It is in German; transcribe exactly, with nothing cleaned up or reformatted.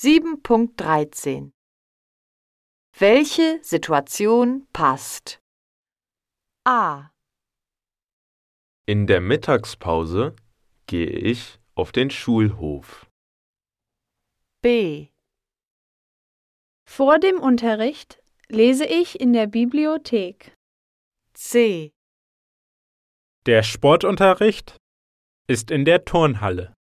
sieben Punkt dreizehn. Welche Situation passt? A. In der Mittagspause gehe ich auf den Schulhof. B. Vor dem Unterricht lese ich in der Bibliothek. C. Der Sportunterricht ist in der Turnhalle.